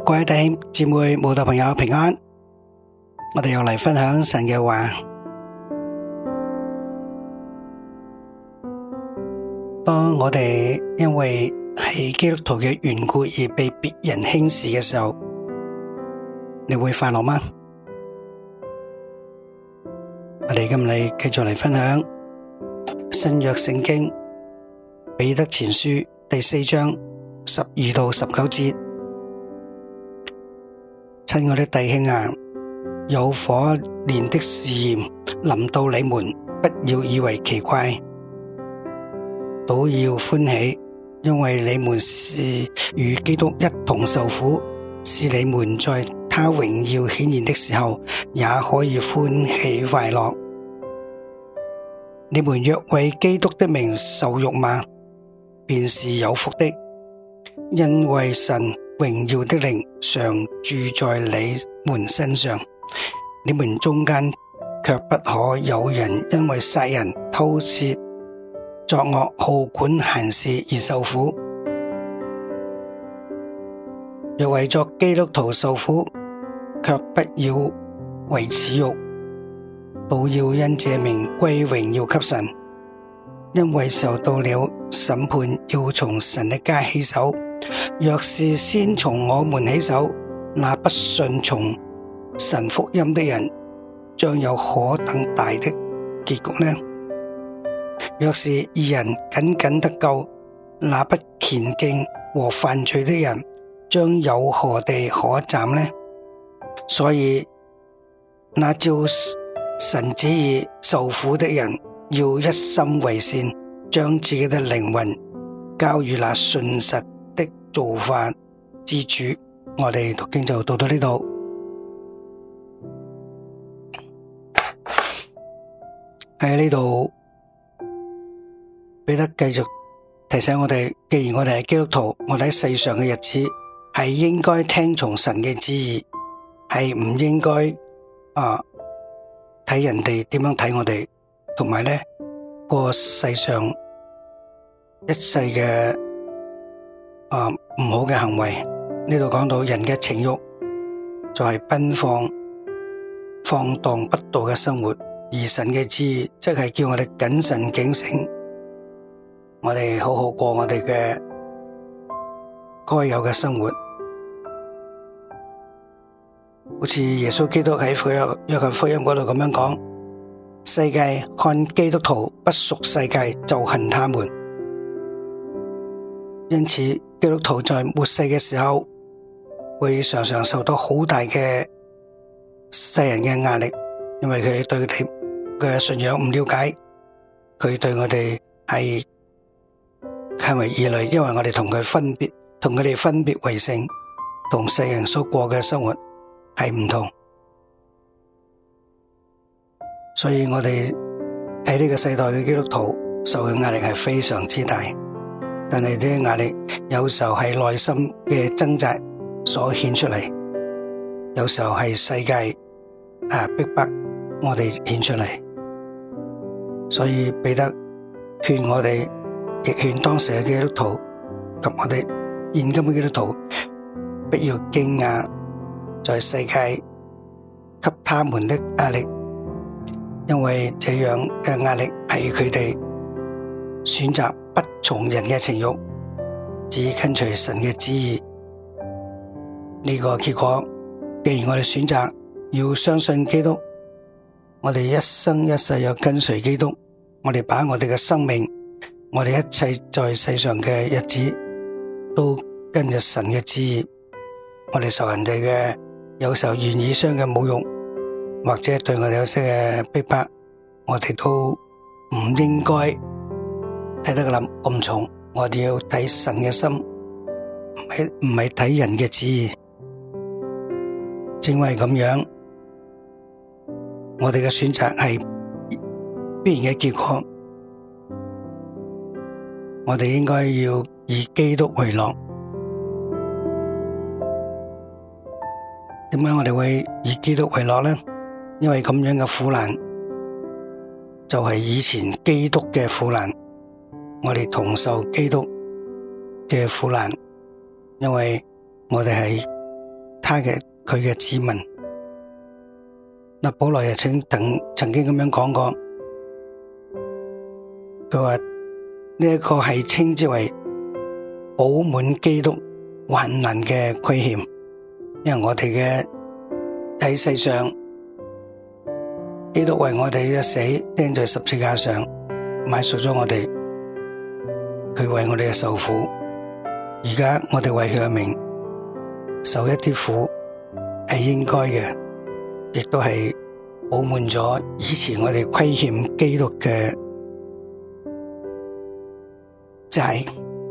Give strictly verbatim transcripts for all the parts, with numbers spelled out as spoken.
各位弟兄姊妹、慕道朋友平安，我哋又嚟分享神嘅話。當我哋因為係基督徒嘅緣故而被別人輕視嘅時候，你會快樂嗎？我哋今日繼續嚟分享新約聖經彼得前書第四章十二到十九節。親愛的弟兄啊，有火煉的試驗臨到你們，不要以為奇怪，倒要歡喜，因為你們是與基督一同受苦，使你們在他榮耀顯現的時候，也可以歡喜快樂。你們若為基督的名受辱罵，便是有福的，因為神榮耀的靈常住在你們身上。你們中間卻不可有人因為殺人、偷竊、作惡、好管閒事而受苦。若為作基督徒受苦，卻不要為恥辱，倒要因這名歸榮耀給神。因為時候到了，審判要從神的家起手。若是先從我們起手，那不信從神福音的人將有何等大的結局呢？若是義人僅僅得救，那不虔敬和犯罪的人將有何地可站呢？所以那照神旨意受苦的人，要一心為善，將自己的靈魂交予那信實的造化之主。我哋讀經就讀到呢度。喺呢度，彼得繼續提醒我哋，既然我哋係基督徒，我哋喺世上嘅日子係應該聽從神嘅旨意，係唔應該啊睇人哋點樣睇我哋，同埋咧過世上一切嘅啊唔好嘅行為。呢度講到人嘅情慾就係奔放、放蕩不道嘅生活，而神嘅旨意即係叫我哋謹慎警醒，我哋好好過我哋嘅該有嘅生活。好似耶穌基督喺福音約翰福音嗰度咁樣講，世界看基督徒不屬世界，就恨他們。因此基督徒在末世嘅時候會常常受到好大嘅世人嘅壓力，因為佢對佢哋嘅信仰唔了解，佢對我哋係看為異類，因為我哋同佢分別，同佢哋分別為聖，同世人所過嘅生活係唔同。所以我哋喺呢個世代嘅基督徒受嘅壓力係非常之大，但係呢啲壓力有時候係內心嘅掙扎所顯出嚟，有時候係世界啊逼迫我哋顯出嚟。所以彼得勸我哋，亦勸當時嘅基督徒及我哋現今嘅基督徒，不要驚訝在世界給他們的壓力，因為這樣嘅壓力係佢哋選擇不從人嘅情慾，只跟隨神嘅旨意。呢個結果，既然我哋選擇要相信基督，我哋一生一世要跟隨基督，我哋把我哋嘅生命，我哋一切在世上嘅日子都跟着神嘅旨意。我哋受人哋嘅有時候言語上嘅侮辱，或者對我哋有些嘅逼迫，我哋都唔應該睇得咁咁重。我哋要睇神嘅心，唔係唔係睇人嘅旨意。正為咁樣，我哋嘅選擇係必然嘅結果。我哋應該要以基督為樂。點解我哋會以基督為樂呢？因為咁樣嘅苦難就係以前基督嘅苦難，我哋同受基督嘅苦難，因為我哋係他嘅佢嘅子民。嗱，保羅又曾曾曾經咁樣講過，佢話呢一個係稱之為補滿基督患難嘅虧欠，因為我哋嘅喺世上，基督為我哋一死釘在十字架上，買贖咗我哋，佢為我哋嘅受苦。而家我哋為佢嘅名受一啲苦係應該嘅，亦都係補滿咗以前我哋虧欠基督嘅債。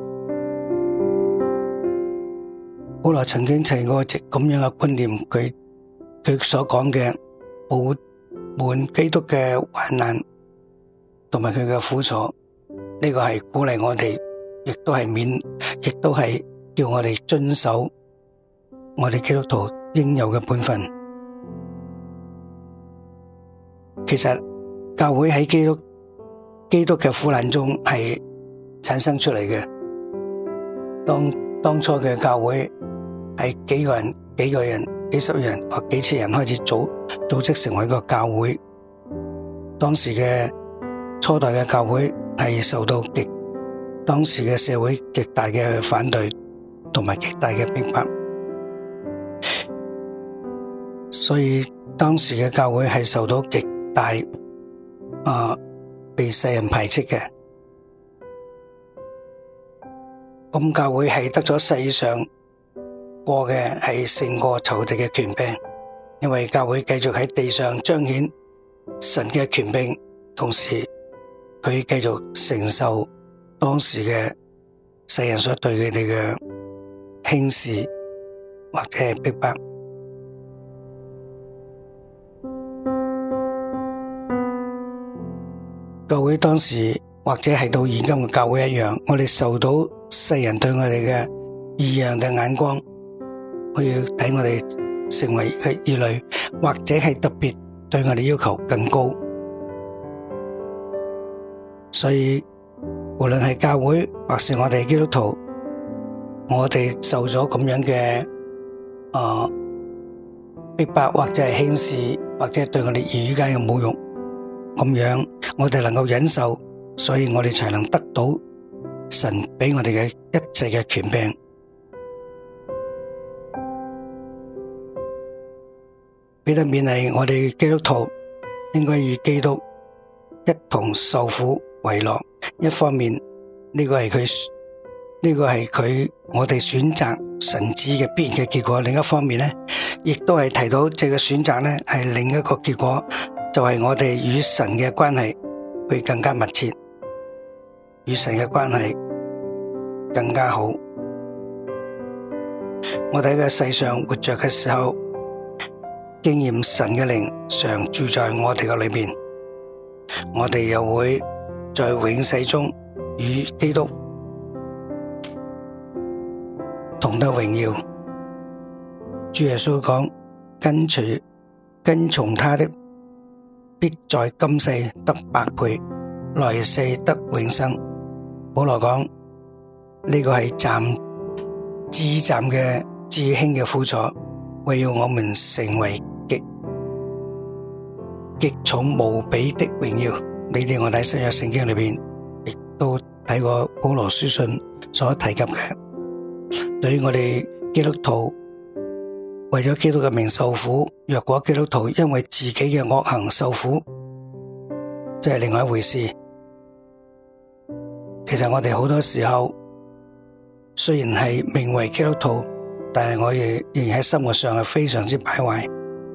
保羅曾經提過咁樣嘅觀念，佢佢所講嘅補滿基督嘅患難同埋佢嘅苦楚，呢個係鼓勵我哋，亦都係勉，亦都係叫我哋遵守我哋基督徒應有嘅本分。其實教會喺基督基督嘅苦難中係產生出嚟嘅。當當初嘅教會係幾個人、幾個人、幾十人或幾千人開始組組織成為一個教會。當時嘅初代嘅教會係受到極當時嘅社會極大嘅反對同埋極大嘅逼迫，所以當時嘅教會係受到極大啊、呃、被世人排斥嘅。咁教會係得咗世上過嘅係勝過仇敵嘅權柄，因為教會繼續喺地上彰顯神嘅權柄，同時佢繼續承受當時嘅世人所對佢哋嘅輕視或者係逼迫。教會當時或者係到現今嘅教會一樣，我哋受到世人對我哋嘅異樣嘅眼光，可以睇我哋成為嘅異類，或者係特別對我哋要求更高。所以無論係教會或是我哋基督徒，我哋受咗咁樣嘅啊逼迫或者係輕視，或者對我哋言語間嘅侮辱，咁樣我哋能夠忍受，所以我哋才能得到神俾我哋嘅一切嘅權柄。彼得勉勵我哋基督徒應該與基督一同受苦為樂。一方面呢個係佢呢個係佢我哋選擇神旨嘅必然嘅結果，另一方面呢亦都係提到這個選擇呢係另一個結果，就係我哋與神嘅關係會更加密切，與神嘅關係更加好。我哋喺個世上活着嘅時候，經驗神嘅靈常住在我哋嘅裏面，我哋又會在永世中與基督同得榮耀。主耶穌講，跟隨跟從他的必在今世得百倍，來世得永生。保羅講呢個係暫至暫嘅至輕嘅苦楚，為要我們成為極極重無比的榮耀。你哋我睇新約聖經裏邊亦都睇過保羅書信所提及嘅，對於我哋基督徒為咗基督嘅名受苦，若果基督徒因為自己嘅惡行受苦，即係另外一回事。其實我哋好多時候雖然係名為基督徒，但係我哋仍然喺生活上係非常之敗壞。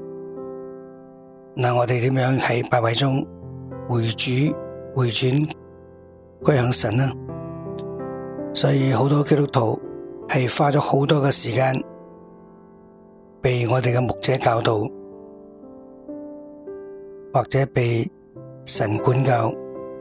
嗱，我哋點樣喺敗壞中回主回轉歸向神呢？所以好多基督徒係花咗好多嘅時間被我哋嘅牧者教導，或者被神管教。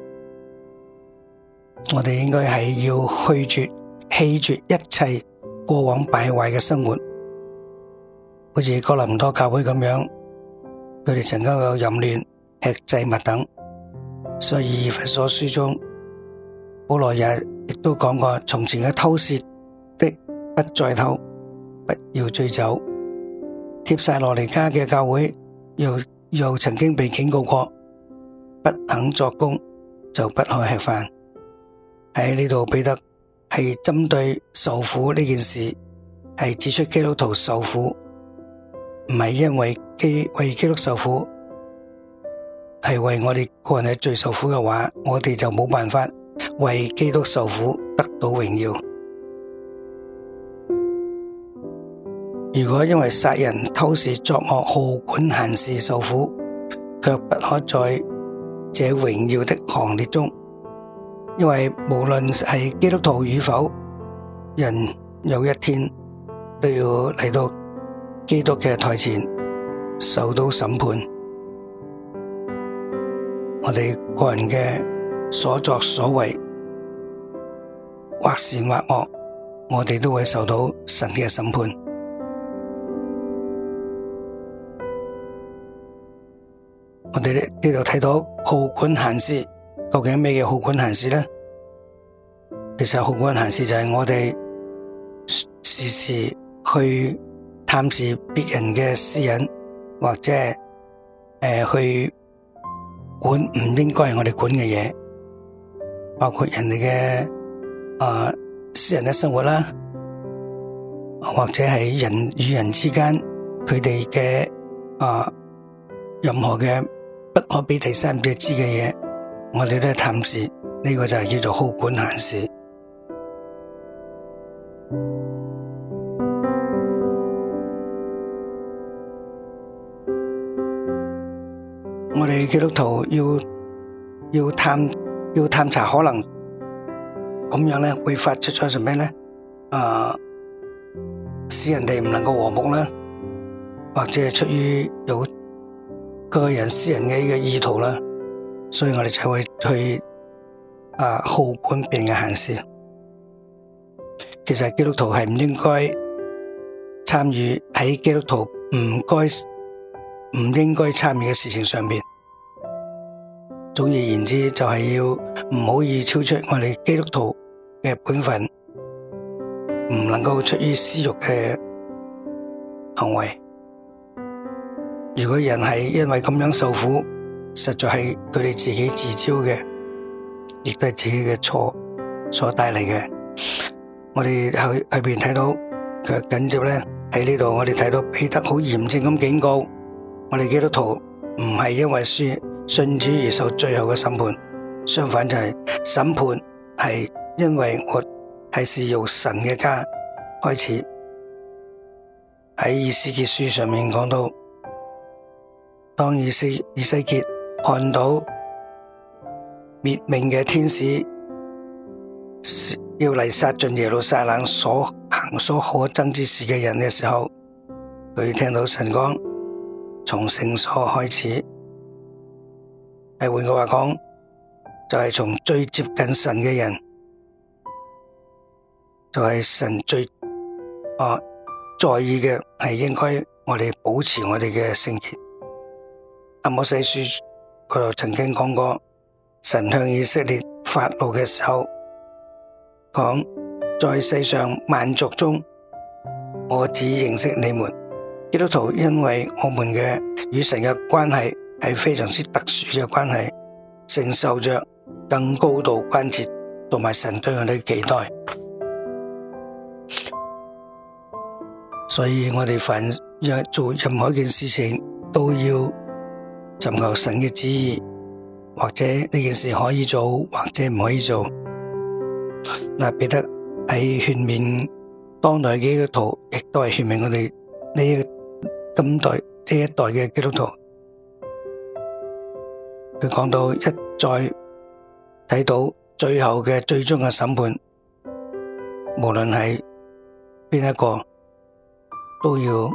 我哋應該係要去絕棄絕一切過往敗壞嘅生活，好似哥林多教會咁樣，佢哋曾經有淫亂、吃祭物等。所以以弗所書中保羅也亦都講過，從前嘅偷竊的不再偷，不要醉酒， 帖撒羅尼迦嘅教會又又曾經被警告過，不肯作工就不可吃飯。喺呢度彼得係針對受苦呢件事，係指出基督徒受苦唔係因為基為基督受苦，係為我哋個人嘅罪受苦嘅話，我哋就冇辦法為基督受苦得到榮耀。如果因為殺人、偷竊、作惡、好管閒事受苦，卻不可在這榮耀的行列中，因為無論係基督徒與否，人有一天都要嚟到基督嘅台前受到審判。我哋個人嘅所作所為，或善或惡，我哋都會受到神嘅審判。我哋呢度睇到好管閒事，究竟咩叫好管閒事呢？其實好管閒事就係我哋時時去探視別人嘅私隱，或者係誒、呃、去管唔應該係我哋管嘅嘢，包括人哋嘅啊私人嘅生活啦，或者係人與人之間佢哋嘅啊任何嘅不可俾第三者知嘅嘢，我哋都係探視，呢、這個就係叫做好管閒事。我哋基督徒要要探要探查可能咁樣咧，會發出咗什麼咧？啊，使人哋唔能夠和睦啦，或者係出於有個人私人嘅呢個意圖啦，所以我哋就會去啊好管別人嘅閒事。其實基督徒係唔應該參與喺基督徒唔該唔應該參與嘅事情上邊。總而言之，就係要唔好以超出我哋基督徒嘅本分，唔能夠出於私欲嘅行為。如果人係因為咁樣受苦，實在係佢哋自己自招嘅，亦都係自己嘅錯所帶嚟嘅。我哋去去邊睇到佢緊接咧喺呢度，我哋睇到彼得好嚴正咁警告我哋基督徒，唔係因為信信主而受最後嘅審判，相反就係審判係因為我係是由神嘅家開始。喺以斯結書上面講到，當以西以西結看到滅命嘅天使要嚟殺盡耶路撒冷所行所可憎之事嘅人嘅時候，佢聽到神講從聖所開始，係換句話講，就係、是、從最接近神嘅人，就係、是、神最啊在意嘅，係應該我哋保持我哋嘅聖潔。阿摩西書嗰度曾經講過，神向以色列發怒嘅時候，講在世上萬族中，我只認識你們。基督徒因為我們嘅與神嘅關係係非常之特殊嘅關係，承受着更高度關切同埋神對我哋嘅期待，所以我哋凡做任何一件事情都要尋求神嘅旨意，或者呢件事可以做，或者唔可以做。嗱，彼得喺勸勉當代嘅基督徒，亦都係勸勉我哋呢今代呢一代嘅基督徒。佢講到一再睇到最後嘅最終嘅審判，無論係邊一個，都要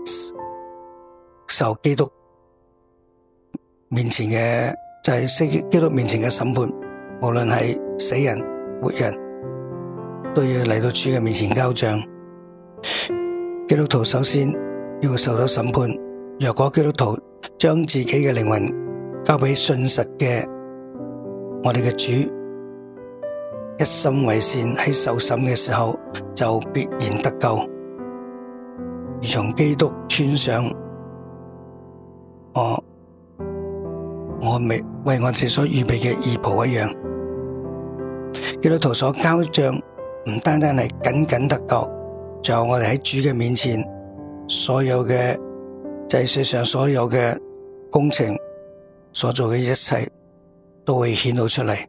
受基督面前嘅就係、是、基督面前嘅審判，無論係死人活人，都要嚟到主嘅面前交賬。基督徒首先要受到審判，若果基督徒將自己嘅靈魂交俾信實嘅我哋嘅主，一心為善，喺受審嘅時候就必然得救。 如從基督穿上我我未為我哋所預備嘅義袍一樣。基督徒所交賬唔單單係僅僅得救，仲有我哋喺主嘅面前所有嘅祭祀上所有嘅工程所做嘅一切都會顯露出嚟。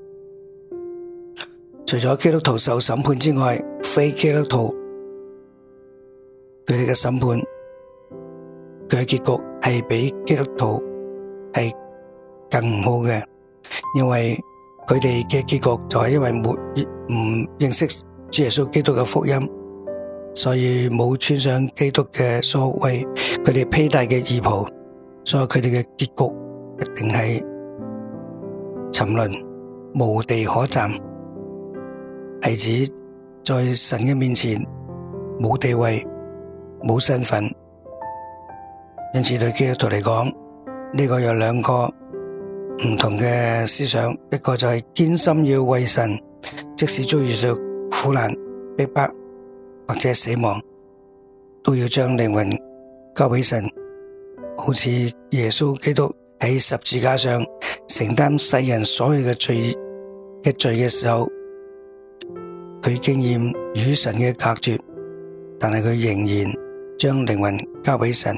除咗基督徒受審判之外，非基督徒佢哋嘅審判佢嘅結局係比基督徒係更唔好嘅，因為佢哋嘅結局就係因為沒唔認識主耶穌基督嘅福音，所以冇穿上基督嘅所謂佢哋披戴嘅義袍，所以佢哋嘅結局一定係沉淪，無地可站，係指在神嘅面前冇地位、冇身份。因此對基督徒嚟講，呢個有兩個唔同嘅思想，一個就係堅心要為神，即使遭遇到苦難、逼迫或者死亡，都要將靈魂交俾神，好似耶穌基督喺十字架上承擔世人所有嘅罪嘅罪嘅時候，佢經驗與神嘅隔絕，但係佢仍然將靈魂交俾神，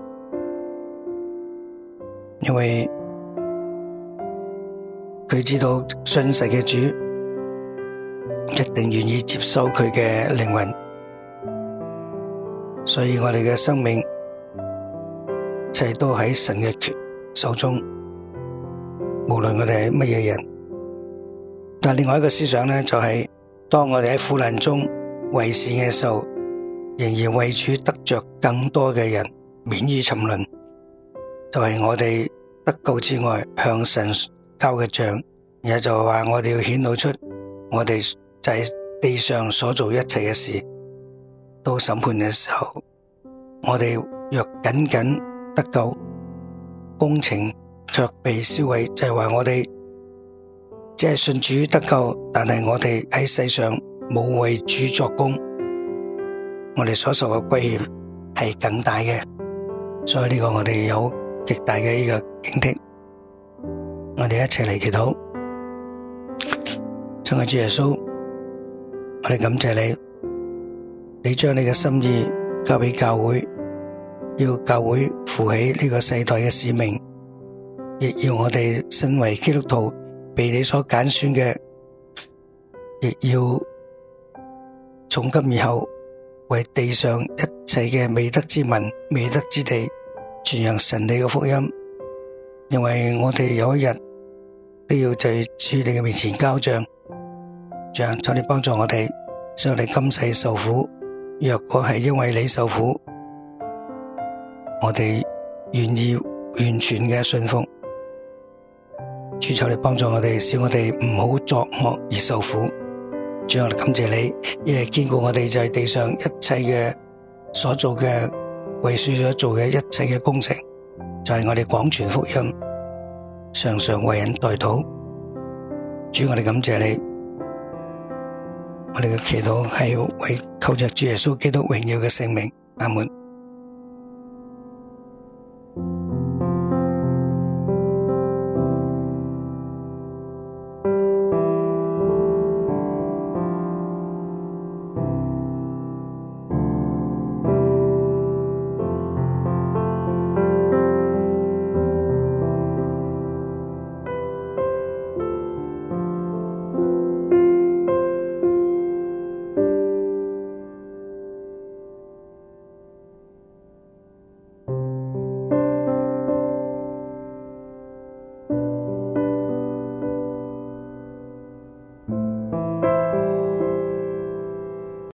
因為佢知道信實嘅主一定願意接收佢嘅靈魂，所以我哋嘅生命一切都喺神嘅手中，無論我哋係乜嘢人。但係另外一個思想呢，就係當我哋喺苦難中為善嘅時候，仍然為主得着更多嘅人免於沉淪，就係我哋得救之外向神交嘅賬，然後就係話我哋要顯露出我哋就係地上所做一切嘅事，到審判嘅時候，我哋若僅僅得救，工程卻被燒毀，就係話我哋只係信主得救，但係我哋喺世上冇為主作工，我哋所受嘅虧欠係更大嘅，所以呢個我哋有極大嘅呢個警惕。我哋一齊嚟祈禱。親愛主耶穌，我哋感謝你，你將你嘅心意交俾教會，要教會負起呢個世代嘅使命，亦要我哋身為基督徒被你所揀選嘅，亦要從今以後為地上一切嘅未得之民、未得之地傳揚神你嘅福音，因為我哋有一日都要在主你嘅面前交賬。主啊，求你幫助我哋，使我哋今世受苦，若果係因為你受苦，我哋願意完全嘅信服。主，求你幫助我哋，使我哋唔好作惡而受苦。主，我哋感謝你，亦係堅固我哋在地上一切嘅所做嘅為主所做嘅一切嘅工程，就係我哋廣傳福音，常常為人代禱。主，我哋感謝你，我哋嘅祈禱係為靠着主耶穌基督榮耀嘅聖名。阿門。